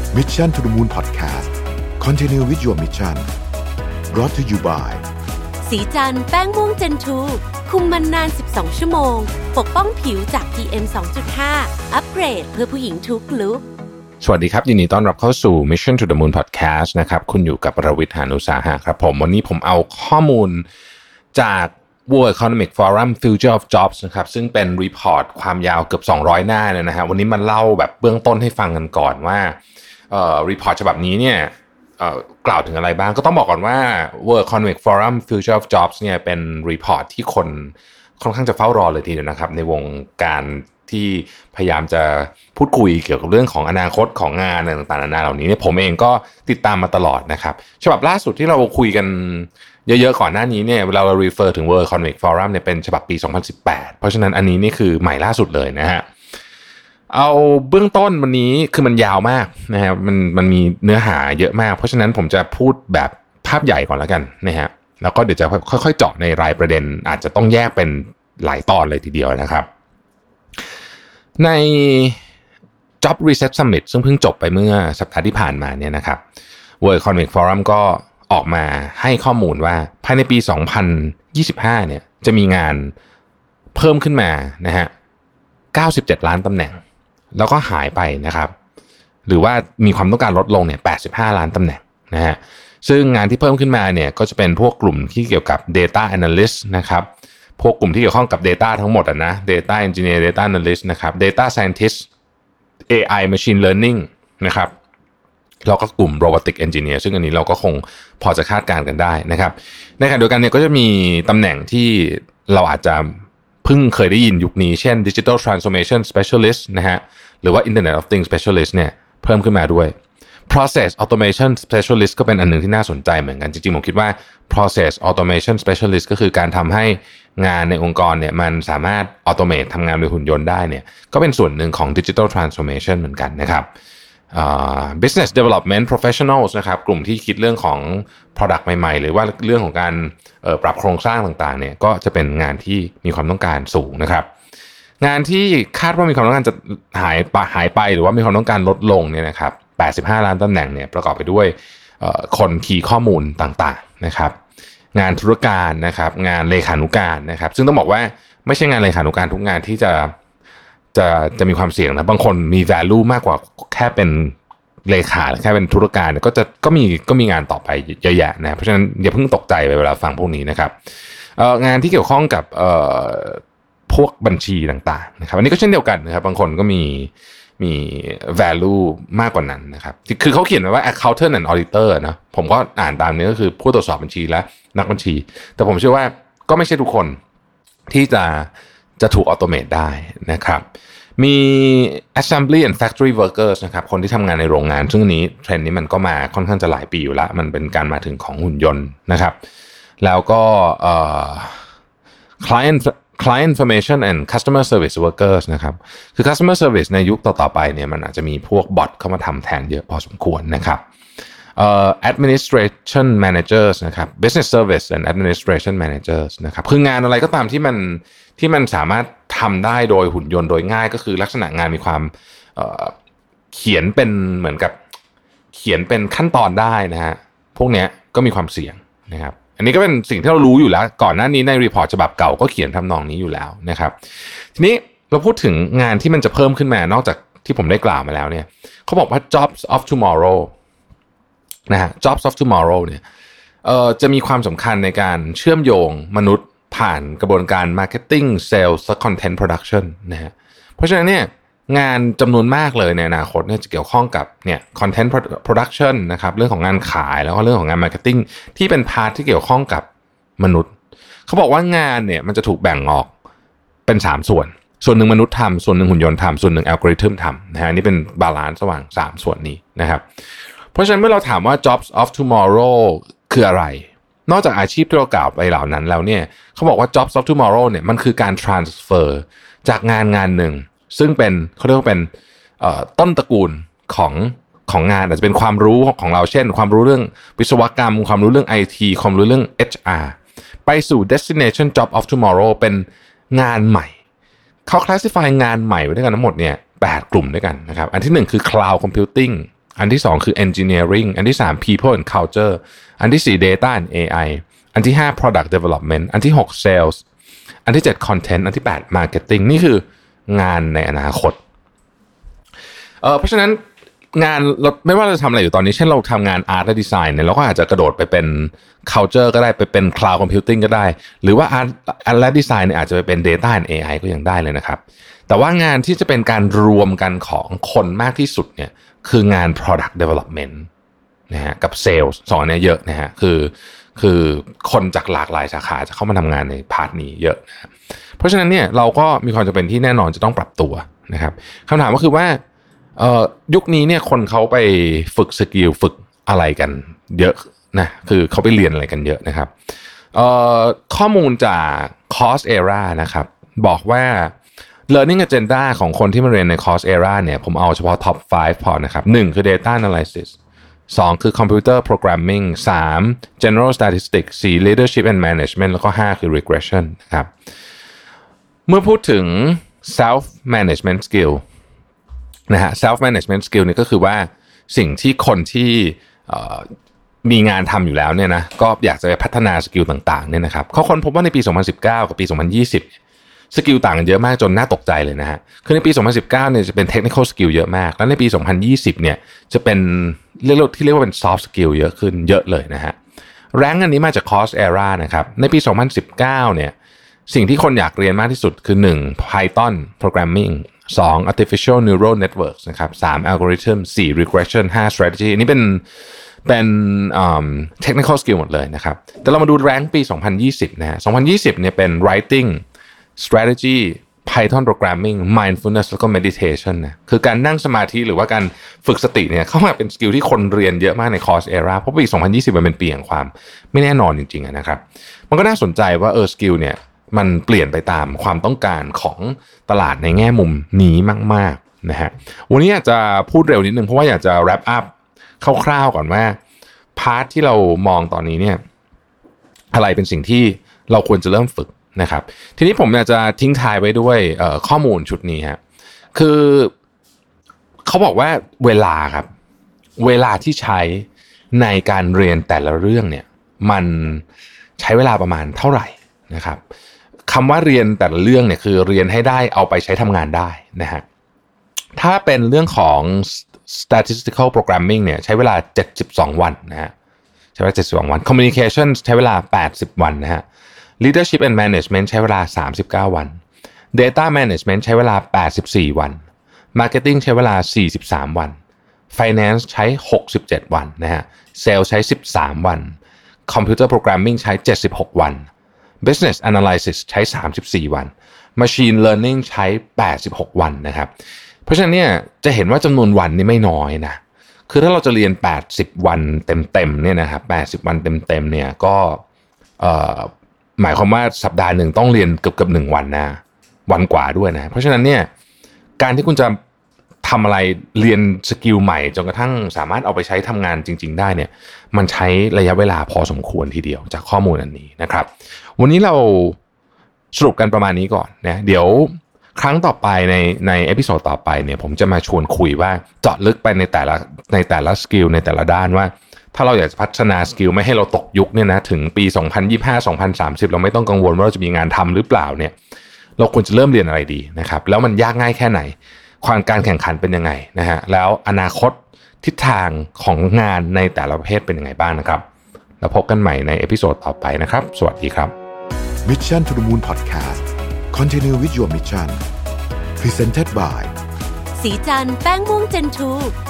Mission to the Moon Podcast Continue with your mission brought to you by สีจันแป้งม่วงเจนทูคุมมันนาน12ชั่วโมงปกป้องผิวจาก PM 2.5 อัปเกรดเพื่อผู้หญิงทุกลุคสวัสดีครับยินดีต้อนรับเข้าสู่ Mission to the Moon Podcast นะครับคุณอยู่กับรวิทย์ หาญอุตสาหะครับผมวันนี้ผมเอาข้อมูลจาก World Economic Forum Future of Jobs นะครับซึ่งเป็นรีพอร์ตความยาวเกือบ200หน้าเลยนะฮะวันนี้มันเล่าแบบเบื้องต้นให้ฟังกันก่อนว่ารีพอร์ตฉบับนี้เนี่ยกล่าวถึงอะไรบ้างก็ต้องบอกก่อนว่า World Economic Forum Future of Jobs เนี่ยเป็นรีพอร์ตที่คนค่อนข้างจะเฝ้ารอเลยทีเดียวนะครับในวงการที่พยายามจะพูดคุยเกี่ยวกับเรื่องของอนาคตของงานต่างๆนานาเหล่านี้เนี่ยผมเองก็ติดตามมาตลอดนะครับฉบับล่าสุดที่เราคุยกันเยอะๆก่อนหน้านี้เนี่ยเรา refer ถึง World Economic Forum เนี่ยเป็นฉบับปี2018เพราะฉะนั้นอันนี้นี่คือใหม่ล่าสุดเลยนะฮะเอาเบื้องต้นวันนี้คือมันยาวมากนะฮะมันมีเนื้อหาเยอะมากเพราะฉะนั้นผมจะพูดแบบภาพใหญ่ก่อนแล้วกันนะฮะแล้วก็เดี๋ยวจะค่อยๆเจาะในรายประเด็นอาจจะต้องแยกเป็นหลายตอนเลยทีเดียวนะครับใน Job Reset Summit ซึ่งเพิ่งจบไปเมื่อสัปดาห์ที่ผ่านมาเนี่ยนะครับ World Economic Forum ก็ออกมาให้ข้อมูลว่าภายในปี2025เนี่ยจะมีงานเพิ่มขึ้นมานะฮะ97ล้านตำแหน่งแล้วก็หายไปนะครับหรือว่ามีความต้องการลดลงเนี่ย85ล้านตำแหน่งนะฮะซึ่งงานที่เพิ่มขึ้นมาเนี่ยก็จะเป็นพวกกลุ่มที่เกี่ยวกับ Data Analyst นะครับพวกกลุ่มที่เกี่ยวข้องกับ Data ทั้งหมดนะ Data Engineer Data Analyst นะครับ Data Scientist AI Machine Learning นะครับแล้วก็กลุ่ม Robotic Engineer ซึ่งอันนี้เราก็คงพอจะคาดการณ์กันได้นะครับในขณะเดียวกันเนี่ยก็จะมีตำแหน่งที่เราอาจจะเพิ่งเคยได้ยินยุคนี้เช่น Digital Transformation Specialist นะฮะหรือว่า Internet of Things Specialist เนี่ยเพิ่มขึ้นมาด้วย Process Automation Specialist ก็เป็นอันหนึ่งที่น่าสนใจเหมือนกันจริงๆผมคิดว่า Process Automation Specialist ก็คือการทำให้งานในองค์กรเนี่ยมันสามารถ automate ทำงานโดยหุ่นยนต์ได้เนี่ยก็เป็นส่วนหนึ่งของ Digital Transformation เหมือนกันนะครับBusiness Development Professionals นะครับกลุ่มที่คิดเรื่องของ Product ใหม่ๆหรือว่าเรื่องของการปรับโครงสร้างต่างๆเนี่ยก็จะเป็นงานที่มีความต้องการสูงนะครับงานที่คาดว่ามีความต้องการจะหายไปหรือว่ามีความต้องการลดลงเนี่ยนะครับ85ล้านตำแหน่งเนี่ยประกอบไปด้วยคนคีย์ข้อมูลต่างๆนะครับงานธุรการนะครับงานเลขานุการนะครับซึ่งต้องบอกว่าไม่ใช่งานเลขานุการทุกงานที่จะมีความเสี่ยงนะบางคนมี value มากกว่าแค่เป็นเลขาแค่เป็นธุรการก็มีงานต่อไปเยอะแยะนะเพราะฉะนั้นอย่าเพิ่งตกใจไปเวลาฟังพวกนี้นะครับงานที่เกี่ยวข้องกับพวกบัญชีต่างๆนะครับอันนี้ก็เช่นเดียวกันนะครับบางคนก็มี value มากกว่านั้นนะครับคือเขาเขียนไว้ว่า accountant and auditor นะผมก็อ่านตามนี้ก็คือผู้ตรวจสอบบัญชีและนักบัญชีแต่ผมเชื่อว่าก็ไม่ใช่ทุกคนที่จะถูกออโตเมตได้นะครับมี assembly and factory workers นะครับคนที่ทำงานในโรงงานซึ่งนี้เทรนด์นี้มันก็มาค่อนข้างจะหลายปีอยู่แล้วมันเป็นการมาถึงของหุ่นยนต์นะครับแล้วก็client information and customer service workers นะครับคือ customer service ในยุคต่อๆไปเนี่ยมันอาจจะมีพวกบอทเข้ามาทำแทนเยอะพอสมควรนะครับadministration managers นะครับ business service and administration managers นะครับคืองานอะไรก็ตามที่มันสามารถทำได้โดยหุ่นยนต์โดยง่ายก็คือลักษณะงานมีความเขียนเป็นเหมือนกับเขียนเป็นขั้นตอนได้นะฮะพวกเนี้ยก็มีความเสี่ยงนะครับอันนี้ก็เป็นสิ่งที่เรารู้อยู่แล้วก่อนหน้านี้ในรีพอร์ตฉบับเก่าก็เขียนทำนองนี้อยู่แล้วนะครับทีนี้เราพูดถึงงานที่มันจะเพิ่มขึ้นมานอกจากที่ผมได้กล่าวมาแล้วเนี่ยเขาบอกว่า jobs of tomorrow นะฮะ jobs of tomorrow เนี่ยจะมีความสำคัญในการเชื่อมโยงมนุษย์ผ่านกระบวนการ marketing sales และ content production นะฮะเพราะฉะนั้นเนี่ยงานจำนวนมากเลยในอนาคตเนี่ยจะเกี่ยวข้องกับเนี่ย content production นะครับเรื่องของงานขายแล้วก็เรื่องของงาน marketing ที่เป็นพาร์ทที่เกี่ยวข้องกับมนุษย์เขาบอกว่างานเนี่ยมันจะถูกแบ่งออกเป็น3ส่วนหนึ่งมนุษย์ทำส่วนหนึ่งหุ่นยนต์ทำส่วนหนึ่งอัลกอริทึมทำนะฮะนี่เป็นบาลานซ์ระหว่าง3ส่วนนี้นะครับเพราะฉะนั้นเมื่อเราถามว่า jobs of tomorrow คืออะไรนอกจากอาชีพที่เรากล่าวไปเหล่านั้นแล้วเนี่ยเขาบอกว่า jobs of tomorrow เนี่ยมันคือการ transfer จากงานหนึ่งซึ่งเป็นเขาเรียกว่าเป็นต้นตระกูลของงานอาจจะเป็นความรู้ของเราเช่นความรู้เรื่องวิศวกรรมความรู้เรื่อง IT ความรู้เรื่อง HR ไปสู่ destination job of tomorrow เป็นงานใหม่เขา classify งานใหม่ไว้ด้วยกันทั้งหมดเนี่ย8กลุ่มด้วยกันนะครับอันที่1คือ cloud computing อันที่2คือ engineering อันที่3 people and culture อันที่4 data and AI อันที่5 product development อันที่6 sales อันที่7 content อันที่8 marketing นี่คืองานในอนาคตเพราะฉะนั้นงานเราไม่ว่าเราจะทำอะไรอยู่ตอนนี้เช่นเราทำงาน art และ design เนี่ยเราก็อาจจะกระโดดไปเป็น culture ก็ได้ไปเป็น cloud computing ก็ได้หรือว่า art และ design เนี่ยอาจจะไปเป็น data and AI ก็ยังได้เลยนะครับแต่ว่างานที่จะเป็นการรวมกันของคนมากที่สุดเนี่ยคืองาน product development นะฮะกับ sales สองเนี่ยเยอะนะฮะคือคนจากหลากหลายสาขาจะเข้ามาทำงานในพาร์ทนี้เยอะนะเพราะฉะนั้นเนี่ยเราก็มีความจำเป็นที่แน่นอนจะต้องปรับตัวนะครับคำถามก็คือว่ายุคนี้เนี่ยคนเขาไปฝึกสกิลฝึกอะไรกันเยอะนะคือเขาไปเรียนอะไรกันเยอะนะครับข้อมูลจาก Coursera นะครับบอกว่า learning agenda ของคนที่มาเรียนใน Coursera เนี่ยผมเอาเฉพาะ top 5 พอนะครับ1คือ data analysis 2คือ computer programming 3 general statistics 4 leadership and management แล้วก็5คือ regression นะครับเมื่อพูดถึง self management skillนะฮะ self management skill นี่ก็คือว่าสิ่งที่คนที่มีงานทำอยู่แล้วเนี่ยนะก็อยากจะไปพัฒนาสกิลต่างๆเนี่ยนะครับเขาค้นพบว่าในปี2019กับปี2020สกิลต่างกันเยอะมากจนน่าตกใจเลยนะฮะคือในปี2019เนี่ยจะเป็น technical skill เยอะมากแล้วในปี2020เนี่ยจะเป็นเรียกว่าเป็น soft skill เยอะขึ้นเยอะเลยนะฮะแรงอันนี้มาจาก Coursera นะครับในปี2019เนี่ยสิ่งที่คนอยากเรียนมากที่สุดคือ1 Python programming 2 artificial neural networks นะครับ3 algorithm 4 regression 5 strategy อันนี้เป็นtechnical skill หมดเลยนะครับแต่เรามาดูแรงปี2020นะฮะ2020เนี่ยเป็น writing strategy Python programming mindfulness แล้วก็ meditation นะคือการนั่งสมาธิหรือว่าการฝึกสติเนี่ยเข้ามาเป็นสกิลที่คนเรียนเยอะมากใน Coursera เพราะปี2020มันเป็นปีแห่งความไม่แน่นอนจริงๆนะครับมันก็น่าสนใจว่าสกิลเนี่ยมันเปลี่ยนไปตามความต้องการของตลาดในแง่มุมนี้มากๆนะฮะวันนี้อยากจะพูดเร็วนิดนึงเพราะว่าอยากจะ wrap up คร่าวๆก่อนว่าพาร์ทที่เรามองตอนนี้เนี่ยอะไรเป็นสิ่งที่เราควรจะเริ่มฝึกนะครับทีนี้ผมอยากจะทิ้งท้ายไว้ด้วยข้อมูลชุดนี้ฮะคือเขาบอกว่าเวลาครับเวลาที่ใช้ในการเรียนแต่ละเรื่องเนี่ยมันใช้เวลาประมาณเท่าไหร่นะครับคำว่าเรียนแต่ละเรื่องเนี่ยคือเรียนให้ได้เอาไปใช้ทำงานได้นะฮะถ้าเป็นเรื่องของ statistical programming เนี่ยใช้เวลา72วันนะฮะใช้เวลา72วัน communication ใช้เวลา80วันนะฮะleadership and management ใช้เวลา39วัน data management ใช้เวลา84วัน marketing ใช้เวลา43วัน finance ใช้67วันนะฮะ sales ใช้13วัน computer programming ใช้76วัน business analysis ใช้34วัน machine learning ใช้86วันนะครับเพราะฉะนั้นเนี่ยจะเห็นว่าจำนวนวันนี่ไม่น้อยนะคือถ้าเราจะเรียน80วันเต็มๆเนี่ยนะครับ80วันเต็มๆเนี่ยก็หมายความว่าสัปดาห์หนึ่งต้องเรียนเกือบ1วันนะวันกว่าด้วยนะเพราะฉะนั้นเนี่ยการที่คุณจะทำอะไรเรียนสกิลใหม่จนกระทั่งสามารถเอาไปใช้ทำงานจริงๆได้เนี่ยมันใช้ระยะเวลาพอสมควรทีเดียวจากข้อมูลอันนี้นะครับวันนี้เราสรุปกันประมาณนี้ก่อนนะเดี๋ยวครั้งต่อไปในเอพิโซดต่อไปเนี่ยผมจะมาชวนคุยว่าเจาะลึกไปในแต่ละสกิลในแต่ละด้านว่าถ้าเราอยากจะพัฒนาสกิลไม่ให้เราตกยุคเนี่ยนะถึงปี2025-2030เราไม่ต้องกังวลว่าเราจะมีงานทำหรือเปล่าเนี่ยเราควรจะเริ่มเรียนอะไรดีนะครับแล้วมันยากง่ายแค่ไหนความการแข่งขันเป็นยังไงนะฮะแล้วอนาคตทิศทางของงานในแต่ละประเภทเป็นยังไงบ้างนะครับแล้วพบกันใหม่ในเอพิโซดต่อไปนะครับสวัสดีครับ Mission to the Moon Podcast Continue with your mission Presented by สีจันทร์แป้งม่วงเจนทู